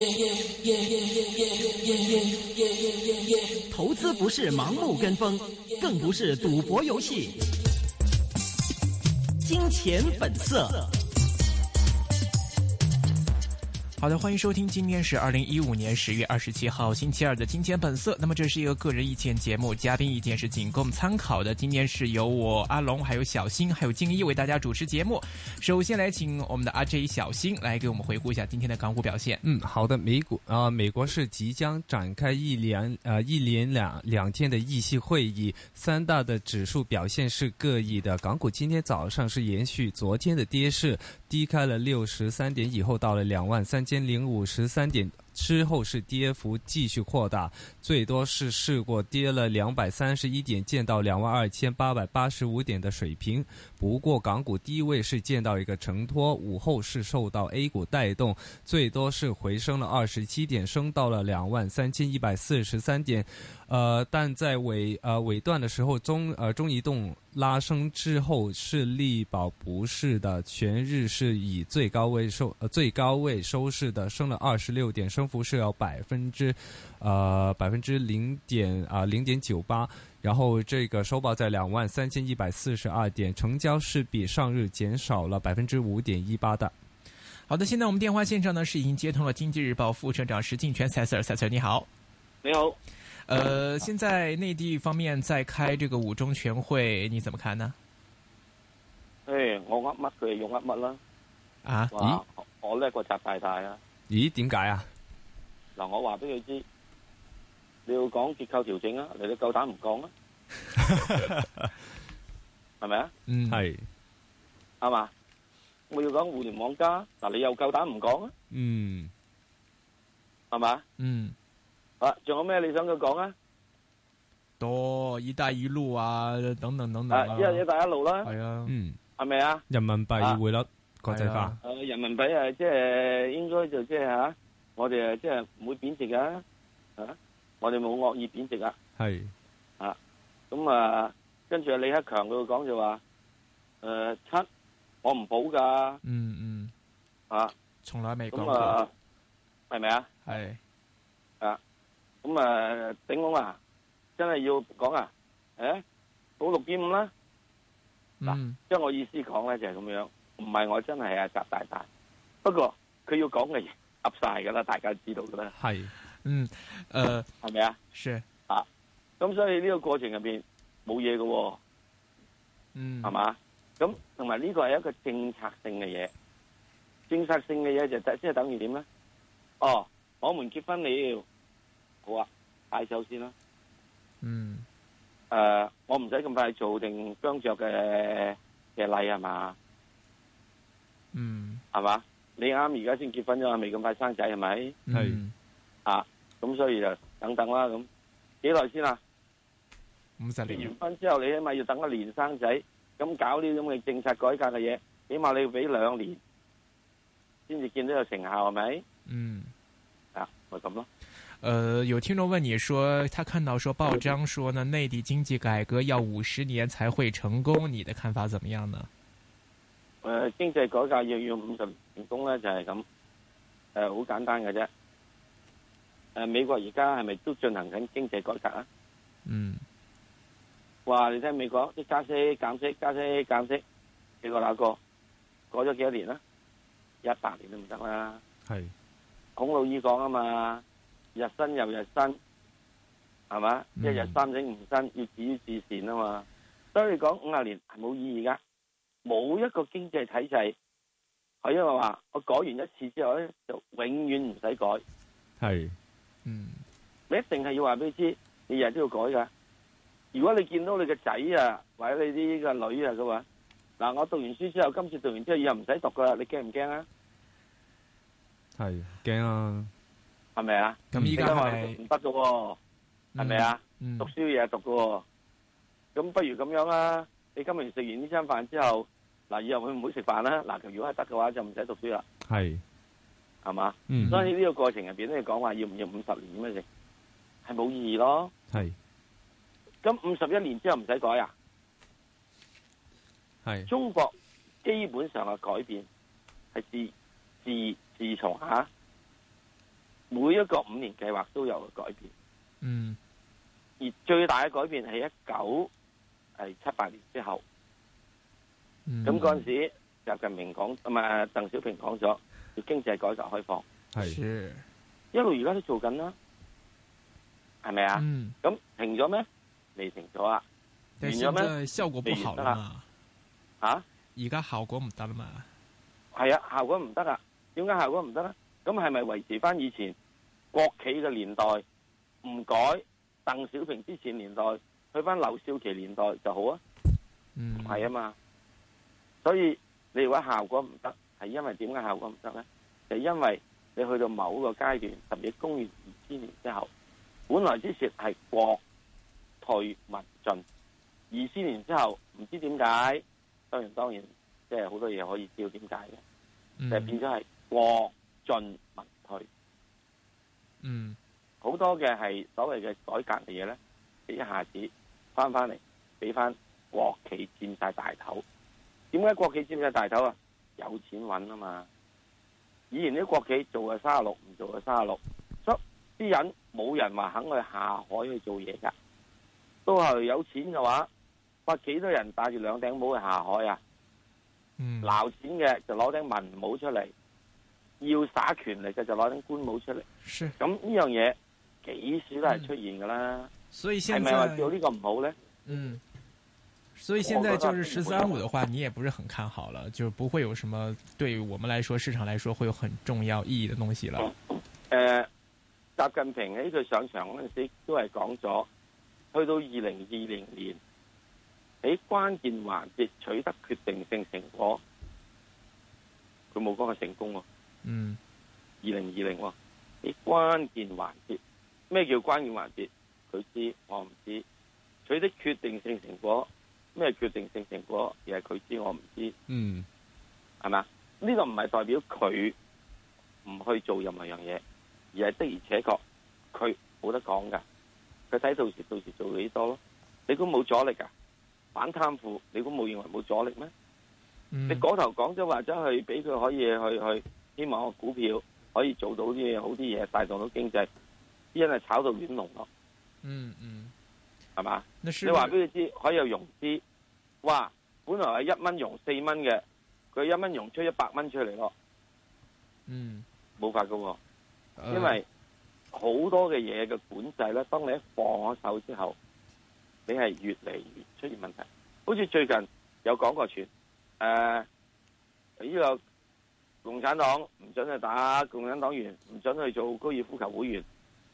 投资不是盲目跟风，更不是赌博游戏。金钱本色。 好的，欢迎收听，今天是2015年10月27号星期二的金钱本色。那么这是一个个人意见节目，嘉宾意见是仅供参考的。今天是由我阿龙还有小新还有静一为大家主持节目。首先来请我们的阿 J 小新来给我们回顾一下今天的港股表现。 好的，美国是即将展开一连两天的议息会议，三大的指数表现是各异的。港股今天早上是延续昨天的跌势，低开了63点以后到了23053点，之后是跌幅继续扩大，最多是试过跌了231点，见到22885点的水平。不过港股低位是见到一个承托，午后是受到 A 股带动，最多是回升了27点，升到了23143点。但在尾段的时候，中移动拉升之后是力保不是的，全日是以最高位收市的，升了26点，升幅是有0.98%，然后这个收报在23142点，成交是比上日减少了5.18%的。 好的，现在我们电话线上呢是已经接通了经济日报副社长石镜泉赛 Sir 你好。 你好。 现在内地方面在開這個五中全會，你怎麼看呢？ 我噏乜佢用噏乜啦。 啊？ 咦？我叻過習大大啊！ 咦？點解啊？ 嗱，我話俾佢知，你要講結構調整啊，你都夠膽唔講啊？係咪啊？ 係。 啱嘛？我要講互聯網加，嗱，你又夠膽唔講啊？係嘛？仲有咩你想佢講啊？ 多一帶一路啊，等等等等啊。 一帶一路啦。 係啊。 係咪啊？ 人民幣匯率國際化。 人民幣即係應該就即係吓，我哋即係唔會貶值噶，我哋冇惡意貶值啊。係。咁跟住李克強佢講就話，七我唔保噶。 從來未講過。 係咪啊？ 係。 咁頂籠啊，真係要講啊，保6.5啦。嗱，將我意思講咧就係咁樣，唔係我真係習大大，不過佢要講嘅嘢噏晒噶啦，大家知道噶啦。 係， 係咪啊？ 是。 咁所以呢個過程入邊冇嘢噶，係嘛？咁同埋呢個係一個政策性嘅嘢，政策性嘅嘢就即係等於點咧？我們結婚了。好啊，嗌手先啦。我唔使咁快做定姜著嘅禮係嘛？係嘛？你啱而家先結婚啫嘛，未咁快生仔係咪？係。咁所以就等等啦。咁幾耐先啊？50年。結完婚之後，你起碼要等1年生仔，咁搞呢啲咁嘅政策改革嘅嘢，起碼你要俾2年，先至見到有成效係咪？咪咁咯。 有聽眾問你說，他看到說報章說呢，內地經濟改革要50年才會成功，你的看法怎麼樣呢？ 經濟改革要50年成功咧，就係咁，好簡單嘅啫。美國而家係咪都進行緊經濟改革啊？話你聽美國啲加息減息加息減息，你個那個改咗幾多年啦？100年都唔得啦。係孔老二講啊嘛。日新又日新，係嘛？一日三省吾身，要止於至善啊嘛。所以講50年係冇意義噶，冇一個經濟體制係因為話我改完一次之後咧，就永遠唔使改。係，你一定係要話俾佢知，你日日都要改噶。如果你見到你嘅仔啊，或者你啲個女啊嘅話，嗱，我讀完書之後，今次讀完之後以後唔使讀噶啦，你驚唔驚啊？係驚啊！係咪啊？咁依家係唔得噶喎，係咪啊？讀書嘢讀噶喎，咁不如咁樣啦。你今日食完呢餐飯之後，嗱，以後會唔會食飯啦？嗱，如果係得嘅話，就唔使讀書啦。係嘛？所以呢個過程入邊咧，講話要唔要50年咁樣食，係冇意義咯。咁51年之後唔使改啊？中國基本上嘅改變係自從每一個5年計劃都有改變。 嗯， 而最大嘅改變係1978年之後。咁嗰陣時，習近平講，唔係鄧小平講咗，要經濟改革開放， 係一路而家都做緊啦，係咪啊？咁停咗咩？未停咗啊？完咗咩？ 效果不好啦嘛？ 吓？ 而家效果唔得啦嘛？ 係啊，效果唔得啊？點解效果唔得咧？咁係咪維持翻以前國企嘅年代唔改？鄧小平之前年代去翻劉少奇年代就好啊？唔係啊嘛？所以你話效果唔得，係因為點解效果唔得咧？就因為你去到某個階段，特別公元2000年之後，本來之前係國退民進，2000年之後唔知點解，當然，即係好多嘢可以知道點解嘅，就係變咗係國進民退。好多嘅係所謂嘅改革嘅嘢咧，一下子翻嚟俾翻國企佔晒大頭。點解國企佔晒大頭啊？有錢揾啊嘛！以前啲國企做嘅36，唔做嘅36，所以啲人冇人話肯去下海去做嘢噶。都係有錢嘅話，哇幾多人戴住2頂帽去下海啊？撈錢嘅就攞頂文帽出嚟，要耍權力嘅就攞頂官帽出嚟。咁呢樣嘢幾時都係出現噶啦。 所以現在係咪話做呢個唔好咧？ 所以現在就是13.5的話，你也不是很看好了，就是不會有什麼對於我們來說，市場來說會有很重要意義的東西了。 習近平喺佢上場嗰陣時都係講咗，去到2020年喺關鍵環節取得決定性成果，佢冇講佢成功喎。2020喎，喺關鍵環節，咩叫關鍵環節？佢知我唔知，取得決定性成果。咩決定性成果？而係佢知我唔知，係咪？呢個唔係代表佢唔去做任何樣嘢，而係的而且確佢冇得講噶。佢睇到時做幾多咯？你估冇阻力噶？反貪腐，你估冇認為冇阻力咩？你嗰頭講咗話咗去俾佢可以去，希望個股票可以做到啲嘢好啲嘢，帶動到經濟，啲人係炒到亂龍咯。係嘛？你話俾佢知可以有融資，哇！本來係1蚊融4蚊嘅，佢1蚊融出100蚊出嚟咯。冇法噶，因為好多嘅嘢嘅管制咧，當你一放咗手之後，你係越嚟越出現問題。好似最近有講過傳，呢個共產黨唔准去打共產黨員，唔准去做高爾夫球會員。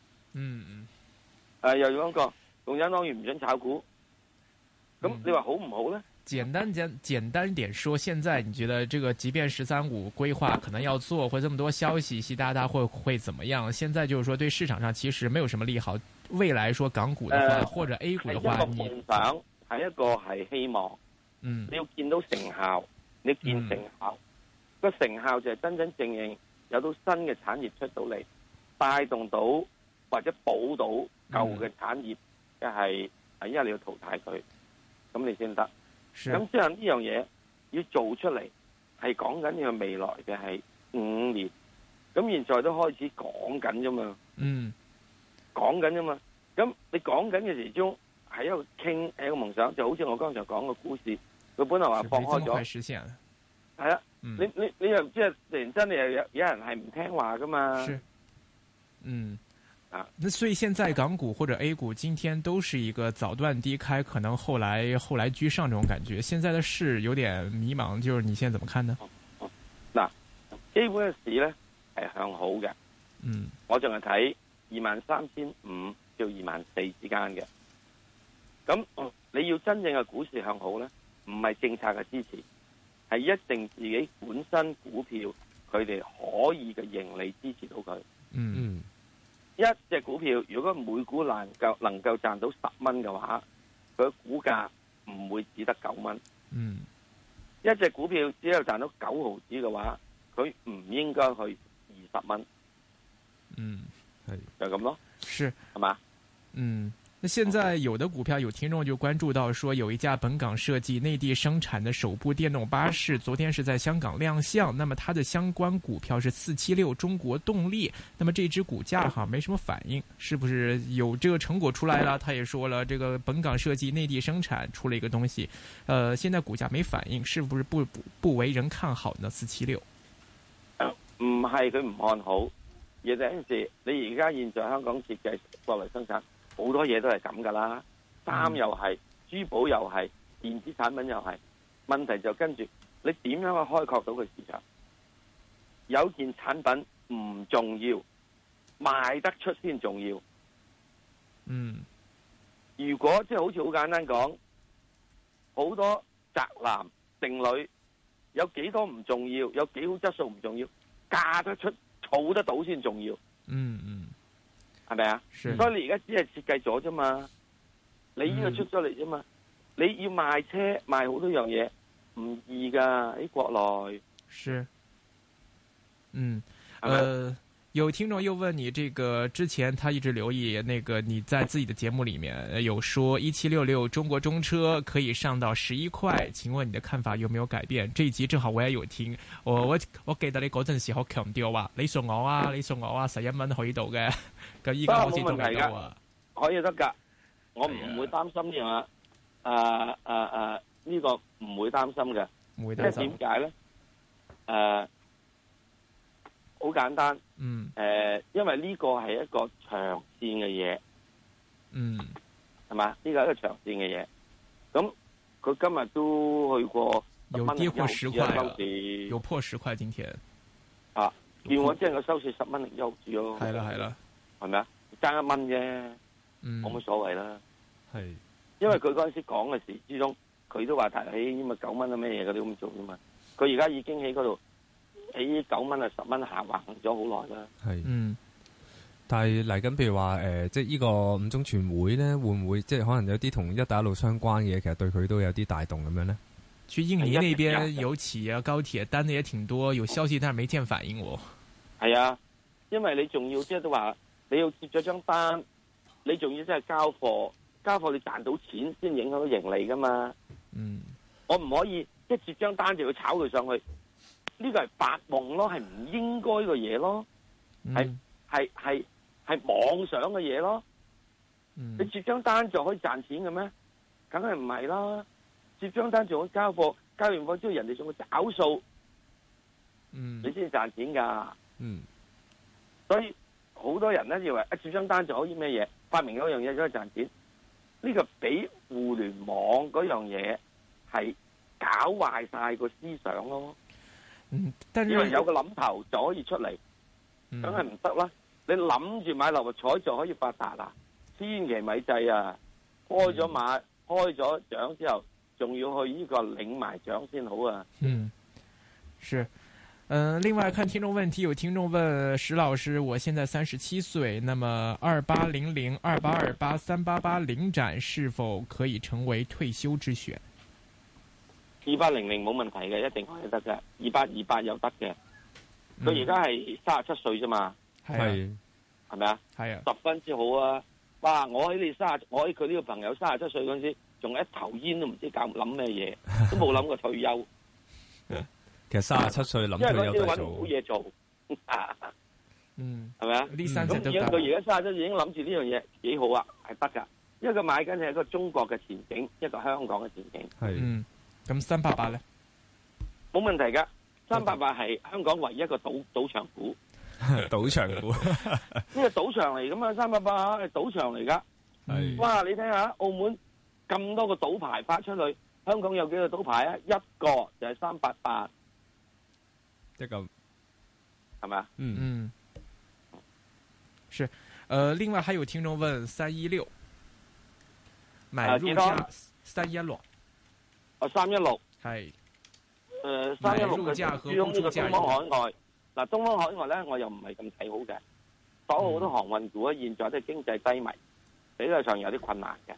又講過。共產黨員唔准炒股，咁你話好唔好呢？ 簡單點說，現在你覺得這個即便13.5規劃可能要做，或這麼多消息，習大大會怎麼樣？現在就是說對市場上其實沒有什麼利好。未來說港股的話，或者 A 股的話， 係一個夢想，係一個係希望。你要見到成效，你見成效，個成效就係真真正正有到新嘅產業出到嚟，帶動到或者補到舊嘅產業。係因為你要淘汰佢，咁你先得。咁即係呢樣嘢要做出嚟，係講緊呢個未來嘅係5年。咁現在都開始講緊啫嘛。講緊啫嘛。咁你講緊嘅時鐘係一個傾，係一個夢想，就好似我剛才講嘅故事，佢本來話放開咗。係啊，你又即係突然間你又有人係唔聽話噶嘛？ 那所以現在港股或者 A 股今天都是一個早段低開，可能後來居上這種感覺。現在的市有點迷茫，就是你現在怎麼看呢？ 嗱，基本嘅市咧係向好嘅。我仲係睇23,500到24,000之間嘅。咁你要真正嘅股市向好咧，唔係政策嘅支持，係一定自己本身股票佢哋可以嘅盈利支持到佢。一隻股票如果每股能夠賺到10蚊嘅話，佢股價唔會只得9蚊。一隻股票只有賺到9毫子嘅話，佢唔應該去20蚊。就咁咯。 是， 係嘛？ 那現在有的股票有聽眾就關注到說，有一架本港設計內地生產的首部電動巴士，昨天是在香港亮相。那麼它的相關股票是476中國動力。那麼這支股價哈沒什麼反應，是不是有這個成果出來了？他也說了，這個本港設計內地生產出了一個東西，現在股價沒反應，是不是不為人看好呢？476 唔係佢唔看好，而第一時你而家現在香港設計國內生產。好多嘢都係咁噶啦，衫又係，珠寶又係，電子產品又係。問題就跟住你點樣去開拓到個市場？有件產品唔重要，賣得出先重要。 嗯， 如果即係好似好簡單講，好多宅男剩女有幾多唔重要，有幾好質素唔重要，嫁得出、儲得到先重要。 嗯嗯。 係咪啊？所以你而家只係設計咗啫嘛，你呢個出咗嚟啫嘛，你要賣車賣好多樣嘢唔易噶喺國內。 是，有聽眾又問你，這個之前他一直留意，那個你在自己的節目裏面有說1766中國中車可以上到11塊，請問你的看法有沒有改變？這一集正好我也有聽，我記得你嗰陣時好強調話，你送我啊11蚊去到嘅，咁依家好似仲未到啊， 可以得噶，我唔會擔心呢樣呢個唔會擔心嘅， 唔會擔心。 即係點解咧？好簡單，因為呢個係一個長線嘅嘢，係嘛？呢個係一個長線嘅嘢。咁佢今日都去過有跌破10塊，有破10塊今天。 啊，見我即係個收市10蚊零優住咯。 係啦， 係咪啊？爭1蚊啫，冇乜所謂啦。 係， 因為佢嗰陣時講嘅時之中，佢都話提起咁咪9蚊啊咩嘢嗰啲咁做啫嘛。佢而家已經喺嗰度。喺9蚊啊10蚊下橫咗好耐啦。 係，但係嚟緊，譬如話即係呢個五中全會咧，會唔會即係可能有啲同一帶一路相關嘅嘢，其實對佢都有啲帶動咁樣咧？ 去印尼那邊有企業高鐵單的也挺多，有消息但係沒見反應喎。 係啊，因為你仲要即係都話你要接咗張單，你仲要即係交貨你賺到錢先影響到盈利噶嘛。我唔可以一接張單就要炒佢上去。呢個係發夢咯，係唔應該嘅嘢咯，係妄想嘅嘢咯。你接張單就可以賺錢嘅咩？梗係唔係啦！接張單仲可以交貨，交完貨之後人哋仲會找數，你先至賺錢噶。所以好多人咧以為一接張單就可以咩嘢，發明嗰樣嘢就可以賺錢。呢個比互聯網嗰樣嘢係搞壞晒個思想咯。因為有個諗頭就可以出嚟，梗係唔得啦！你諗住買六合彩就可以發達啊？千祈咪制啊！開咗馬開咗獎之後，仲要去呢個領埋獎先好啊！ 是，另外看聽眾問題，有聽眾問石老師：我現在37歲，那麼2800、2828、388領展是否可以成為退休之選 ？2800冇問題嘅，一定可以得嘅。2828又得嘅。佢而家係37歲啫嘛，係咪啊？係啊，10分之好啊！哇！我喺佢呢個朋友37歲嗰陣時，仲一頭煙都唔知諗咩嘢，都冇諗過退休。 其實37歲諗退休都做，因為嗰啲揾唔到嘢做， 係咪啊？咁而家佢而家37歲已經諗住呢樣嘢幾好啊，係得㗎。因為佢買緊係一個中國嘅前景，一個香港嘅前景。 係。咁388咧， 冇問題噶。388係香港唯一一個賭場股， 賭場股呢個賭場嚟噶嘛？388係賭場嚟噶。哇！你睇下澳門咁多個賭牌發出去，香港有幾個賭牌啊？一個就係388， 一個係咪啊？ 是，另外還有聽眾問316買入價316。 316 係 ，316嘅珠江呢個東方海外，嗱東方海外咧，我又唔係咁睇好嘅。所有好多航運股咧，現在都係經濟低迷，比較上有啲困難嘅。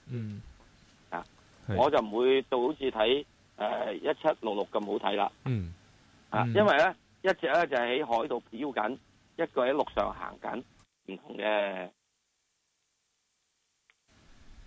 我就唔會到好似睇1766咁好睇啦。因為咧一隻咧就係喺海度漂緊，一個喺陸上行緊，唔同嘅。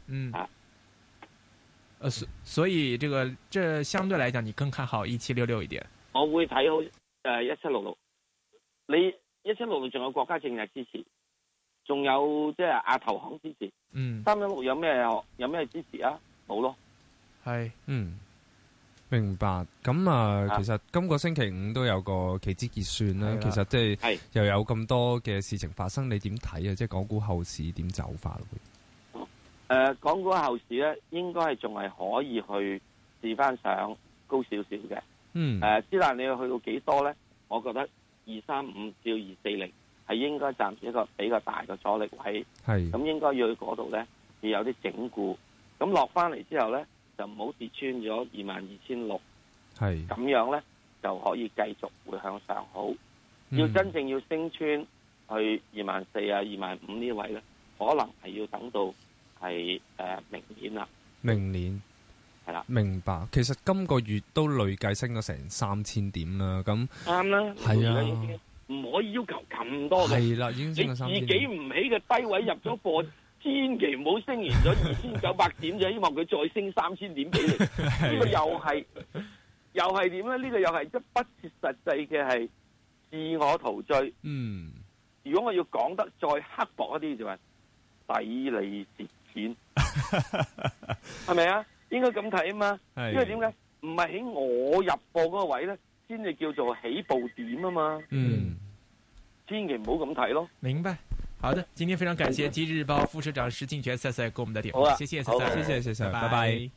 所以這相對來講，你更看好1766一點。 我會睇好1766。你1766仲有國家政策支持，仲有即係亞投行支持。316有咩支持啊？冇咯。 係，明白。咁其實今個星期五都有個期指結算啦。其實即係又有咁多嘅事情發生，你點睇啊？即係港股後市點走法咯？ 港股後市咧，應該係仲係可以去試翻上高少少嘅。之但你要去到幾多咧？我覺得235至240係應該暫時一個比較大嘅阻力位。咁應該要去嗰度咧，要有啲整固。咁落翻嚟之後咧，就唔好跌穿咗22,600。咁樣咧就可以繼續會向上好。要真正要升穿去24,000啊、25,000呢位咧，可能係要等到係明年啦。 明年係啦，明白。其實今個月都累計升咗成3000點啦。咁啱啦，係啊， 唔可以要求咁多嘅。 係啦，已經升咗3000點。 你自己唔起嘅低位入咗貨，千祈唔好升完咗2900點就希望佢再升3000點俾你。呢個又係點咧？呢個又係即不切實際嘅係自我陶醉。如果我要講得再刻薄一啲，就係抵你蝕錢，係咪啊？應該咁睇啊嘛。因為點解？唔係喺我入貨嗰個位咧，先至叫做起步點啊嘛。千祈唔好咁睇咯。 明白。好的，今天非常感謝《今日日報》副社長石鏡泉Sir 給我們的點評。謝謝 Sir，謝謝，拜拜。